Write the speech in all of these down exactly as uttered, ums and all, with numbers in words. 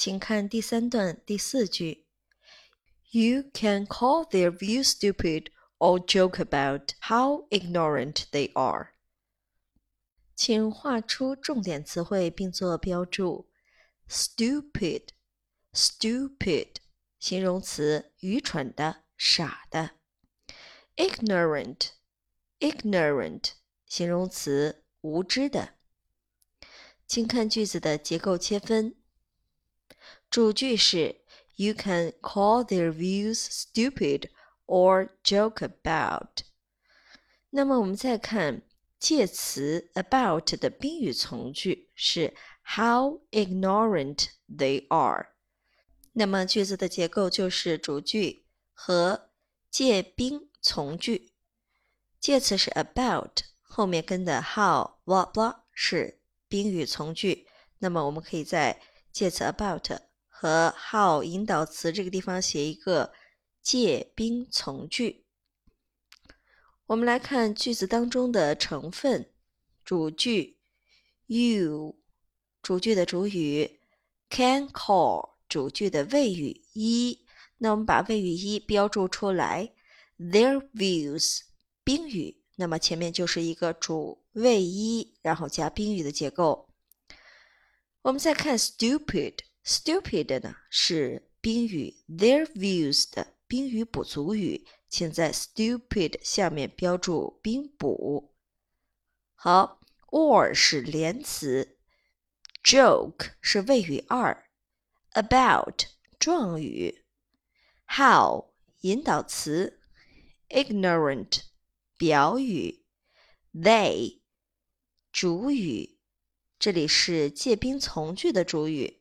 请看第三段第四句。You can call their views stupid or joke about how ignorant they are. 请画出重点词汇并做标注。Stupid, stupid 形容词，愚蠢的，傻的。Ignorant, ignorant 形容词，无知的。请看句子的结构切分。主句是 You can call their views stupid or joke about. 那么我们再看介词 about 的宾语从句是 How ignorant they are. 那么句子的结构就是主句和介宾从句。介词是 about， 后面跟的 how blah blah 是宾语从句。那么我们可以在介词 about 和 how 引导词这个地方写一个介宾从句。我们来看句子当中的成分。主句 you 主句的主语 can call 主句的谓语一，那我们把谓语一标注出来。their views 宾语，那么前面就是一个主谓一，然后加宾语的结构。我们再看 stupid stupid 呢是宾语 their views 的宾语补足语，请在 stupid 下面标注宾补。好 or 是连词， joke 是谓语二， about 状语， how 引导词， ignorant 表语， they 主语，这里是介宾从句的主语，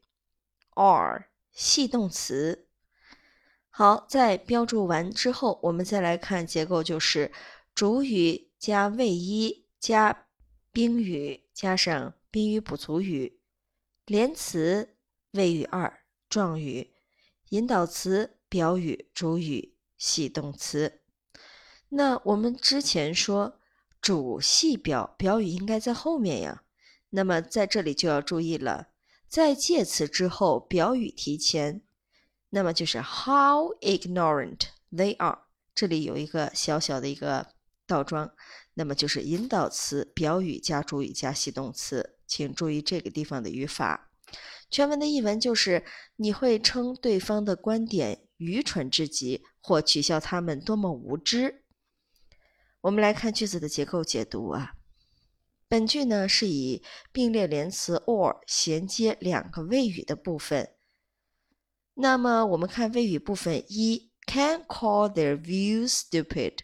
are 系动词。好，在标注完之后，我们再来看结构，就是主语加谓一加宾语加上宾语补足语，连词谓语二，状语，引导词表语，主语，系动词。那我们之前说主系表，表语应该在后面呀。那么在这里就要注意了，在介词之后表语提前，那么就是 how ignorant they are， 这里有一个小小的一个倒装，那么就是引导词表语加主语加系动词，请注意这个地方的语法。全文的译文就是你会称对方的观点愚蠢至极，或取笑他们多么无知。我们来看句子的结构解读啊。本句呢是以并列连词 or 衔接两个谓语的部分。那么我们看谓语部分一 can call their views stupid,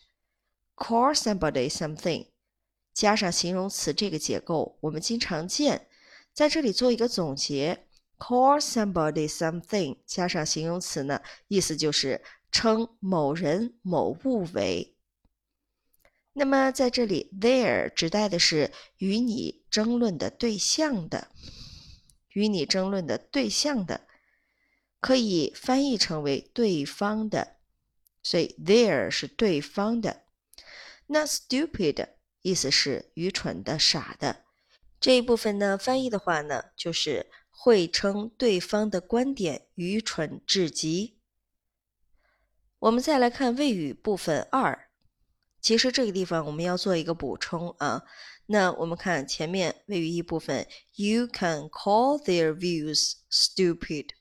call somebody something 加上形容词这个结构我们经常见，在这里做一个总结， call somebody something 加上形容词呢，意思就是称某人某物为。那么在这里 their 指代的是与你争论的对象的，与你争论的对象的，可以翻译成为对方的，所以 their 是对方的。那 stupid 意思是愚蠢的，傻的，这一部分呢翻译的话呢，就是会称对方的观点愚蠢至极。我们再来看谓语部分二，其实这个地方我们要做一个补充啊。那我们看前面谓语一部分 You can call their views stupid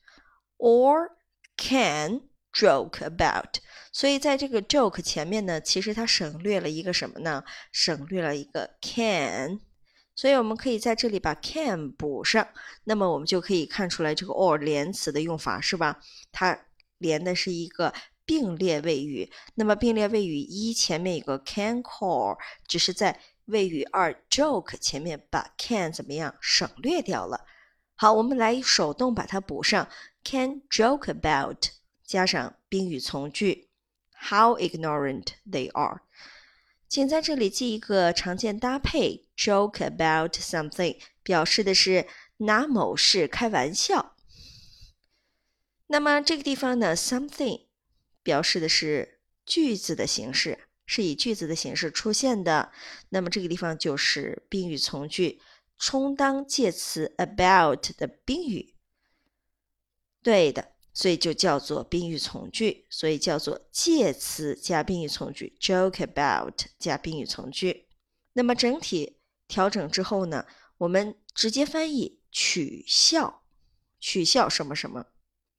or can joke about， 所以在这个 joke 前面呢，其实它省略了一个什么呢？省略了一个 can， 所以我们可以在这里把 can 补上，那么我们就可以看出来这个 or 连词的用法是吧？它连的是一个并列谓语，那么并列谓语一前面有个 can call， 只是在谓语二 joke 前面把 can 怎么样省略掉了。好，我们来手动把它补上， can joke about 加上宾语从句 how ignorant they are。 请在这里记一个常见搭配 joke about something 表示的是拿某事开玩笑。那么这个地方呢 something表示的是句子的形式，是以句子的形式出现的，那么这个地方就是宾语从句，充当介词 about 的宾语。 对的，所以就叫做宾语从句，所以叫做介词加宾语从句 joke about 加宾语从句。那么整体调整之后呢，我们直接翻译取笑，取笑什么什么。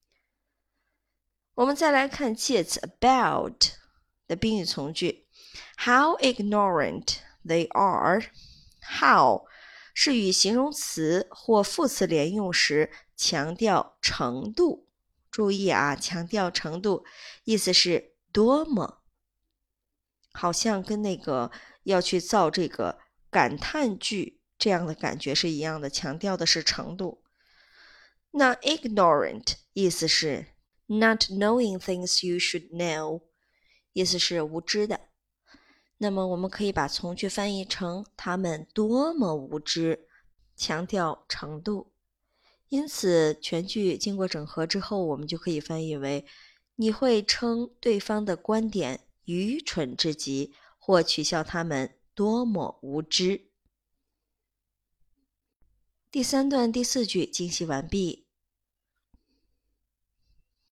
我们再来看介词 about 的宾语从句 How ignorant they are. How 是与形容词或副词连用时强调程度，注意啊，强调程度，意思是多么，好像跟那个要去造这个感叹句这样的感觉是一样的，强调的是程度。那 ignorant 意思是 not knowing things you should know， 意思是无知的。那么我们可以把从句翻译成他们多么无知，强调程度。因此全句经过整合之后，我们就可以翻译为你会称对方的观点愚蠢至极，或取笑他们多么无知。第三段第四句精细完毕。